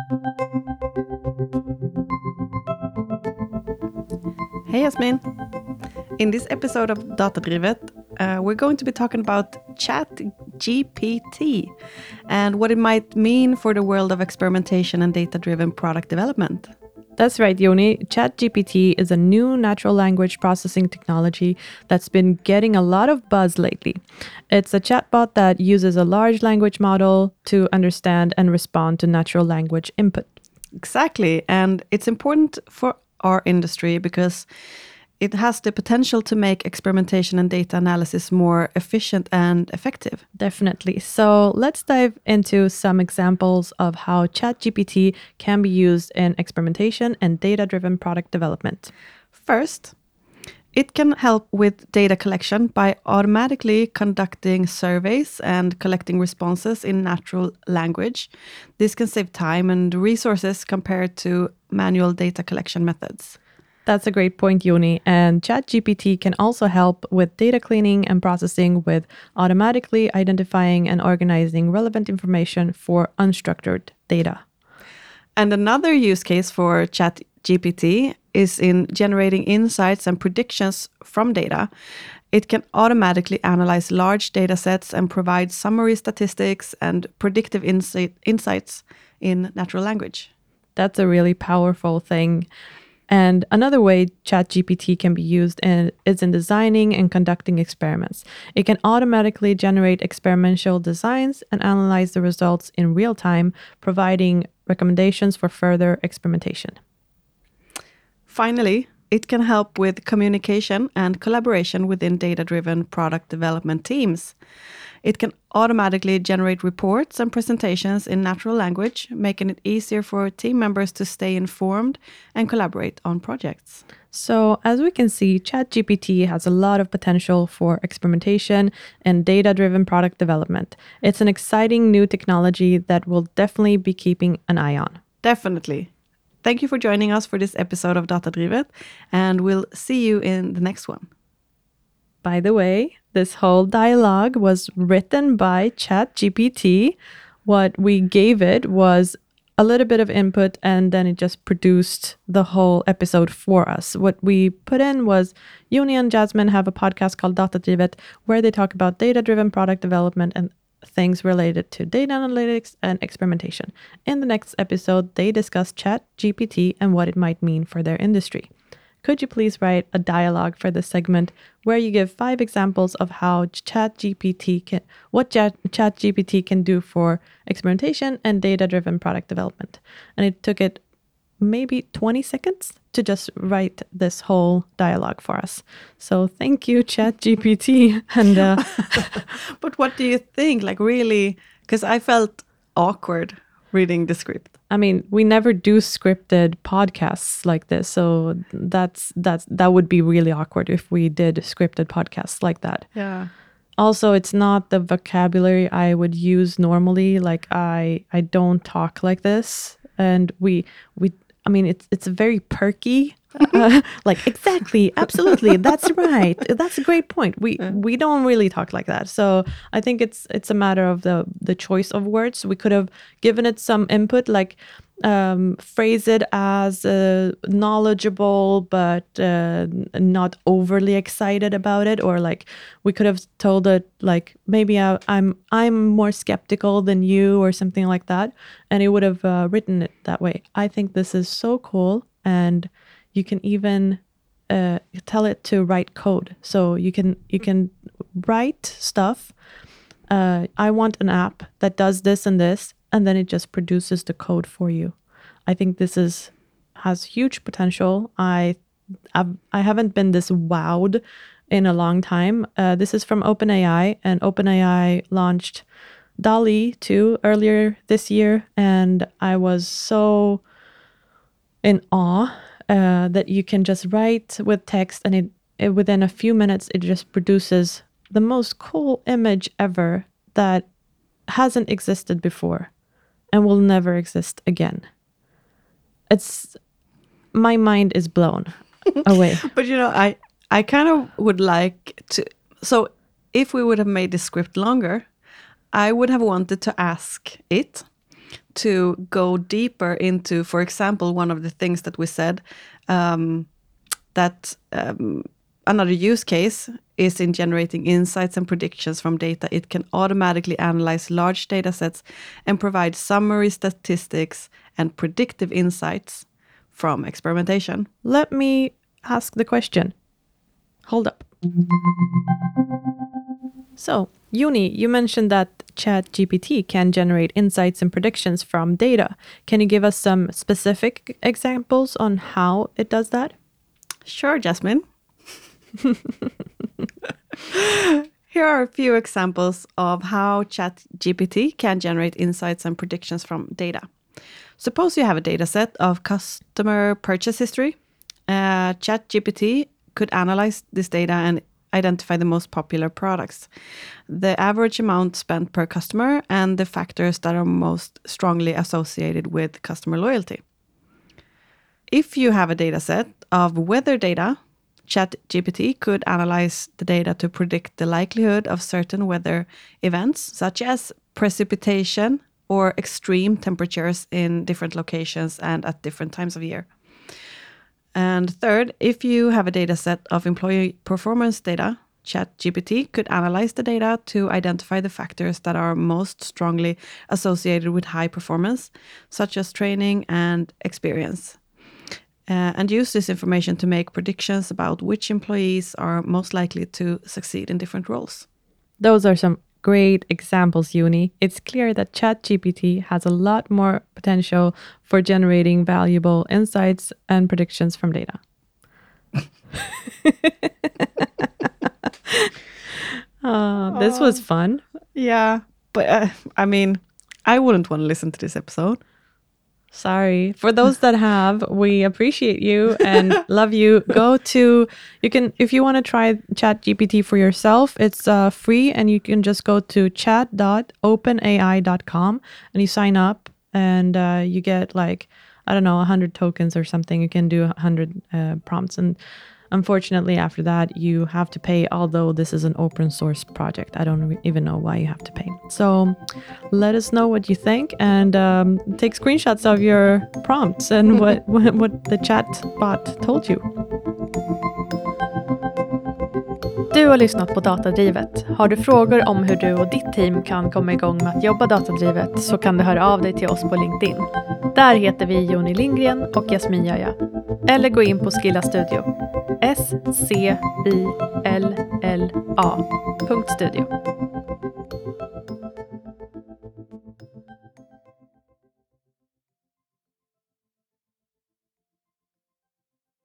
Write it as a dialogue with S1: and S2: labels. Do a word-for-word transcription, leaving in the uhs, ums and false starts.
S1: Hey Yasmin! In this episode of Datadrivet, uh, we're going to be talking about ChatGPT and what it might mean for the world of experimentation and data-driven product development.
S2: That's right, Yoni. ChatGPT is a new natural language processing technology that's been getting a lot of buzz lately. It's a chatbot that uses a large language model to understand and respond to natural language input.
S1: Exactly, and it's important for our industry because it has the potential to make experimentation and data analysis more efficient and effective.
S2: Definitely. So let's dive into some examples of how ChatGPT can be used in experimentation and data-driven product development.
S1: First, it can help with data collection by automatically conducting surveys and collecting responses in natural language. This can save time and resources compared to manual data collection methods.
S2: That's a great point, Yoni. And ChatGPT can also help with data cleaning and processing with automatically identifying and organizing relevant information for unstructured data.
S1: And another use case for ChatGPT is in generating insights and predictions from data. It can automatically analyze large data sets and provide summary statistics and predictive insight, insights in natural language.
S2: That's a really powerful thing. And another way ChatGPT can be used in, is in designing and conducting experiments. It can automatically generate experimental designs and analyze the results in real time, providing recommendations for further experimentation.
S1: Finally, it can help with communication and collaboration within data-driven product development teams. It can automatically generate reports and presentations in natural language, making it easier for team members to stay informed and collaborate on projects.
S2: So, as we can see, ChatGPT has a lot of potential for experimentation and data-driven product development. It's an exciting new technology that we'll definitely be keeping an eye on.
S1: Definitely. Thank you for joining us for this episode of Datadrivet, and we'll see you in the next one.
S2: By the way, this whole dialogue was written by ChatGPT. What we gave it was a little bit of input, and then it just produced the whole episode for us. What we put in was Yoni and Jasmine have a podcast called Datadrivet, where they talk about data-driven product development and things related to data analytics and experimentation. In the next episode, they discuss ChatGPT and what it might mean for their industry. Could you please write a dialogue for this segment where you give five examples of how ChatGPT can, what Chat, ChatGPT can do for experimentation and data-driven product development? And it took it maybe twenty seconds to just write this whole dialogue for us. So thank you, ChatGPT. And uh,
S1: but what do you think? Like really, because I felt awkward reading the script.
S2: I mean, we never do scripted podcasts like this, so that's that's that would be really awkward if we did scripted podcasts like that.
S1: Yeah.
S2: Also, it's not the vocabulary I would use normally. Like I I don't talk like this, and we we I mean it's it's very perky. Uh, like exactly, absolutely, that's right. That's a great point. We
S1: Yeah.
S2: we don't really talk like that. So I think it's it's a matter of the the choice of words. We could have given it some input, like um, phrase it as uh, knowledgeable but uh, not overly excited about it, or like we could have told it like maybe I, I'm I'm more skeptical than you or something like that, and it would have uh, written it that way. I think this is so cool, and you can even uh, tell it to write code. So you can you can write stuff. Uh, I want an app that does this and this, and then it just produces the code for you. I think this is has huge potential. I I've, I haven't been this wowed in a long time. Uh, this is from OpenAI, and OpenAI launched DALL-E two earlier this year, and I was so in awe uh, that you can just write with text, and it, it within a few minutes it just produces the most cool image ever that hasn't existed before and will never exist again. It's my mind is blown away.
S1: But you know, I I kind of would like to. So if we would have made the script longer, I would have wanted to ask it to go deeper into, for example, one of the things that we said, um, that um, another use case is in generating insights and predictions from data. It can automatically analyze large data sets and provide summary statistics and predictive insights from experimentation.
S2: Let me ask the question. Hold up. So, Joni, you mentioned that ChatGPT can generate insights and predictions from data. Can you give us some specific examples on how it does that?
S1: Sure, Jasmine. Here are a few examples of how ChatGPT can generate insights and predictions from data. Suppose you have a data set of customer purchase history. Uh, ChatGPT could analyze this data and identify the most popular products, the average amount spent per customer, and the factors that are most strongly associated with customer loyalty. If you have a data set of weather data, ChatGPT could analyze the data to predict the likelihood of certain weather events, such as precipitation or extreme temperatures in different locations and at different times of year. And third, if you have a data set of employee performance data, ChatGPT could analyze the data to identify the factors that are most strongly associated with high performance, such as training and experience, uh, and use this information to make predictions about which employees are most likely to succeed in different roles.
S2: Those are some great examples, Joni. It's clear that ChatGPT has a lot more potential for generating valuable insights and predictions from data. uh, this was fun.
S1: Yeah, but uh, I mean, I wouldn't want to listen to this episode.
S2: Sorry. For those that have, we appreciate you and love you. Go to, you can, if you want to try ChatGPT for yourself, it's uh, free, and you can just go to chat dot open A I dot com and you sign up, and uh, you get like, I don't know, one hundred tokens or something. You can do one hundred uh, prompts. And unfortunately, after that, you have to pay, although this is an open source project. I don't even know why you have to pay. So let us know what you think, and um, take screenshots of your prompts and what, what, what the chat bot told you.
S3: Du har lyssnat på Datadrivet. Har du frågor om hur du och ditt team kan komma igång med att jobba datadrivet, så kan du höra av dig till oss på LinkedIn. Där heter vi Joni Lindgren och Jasmin Jöja. Eller gå in på Skilla Studio. S C I L L A punkt studio.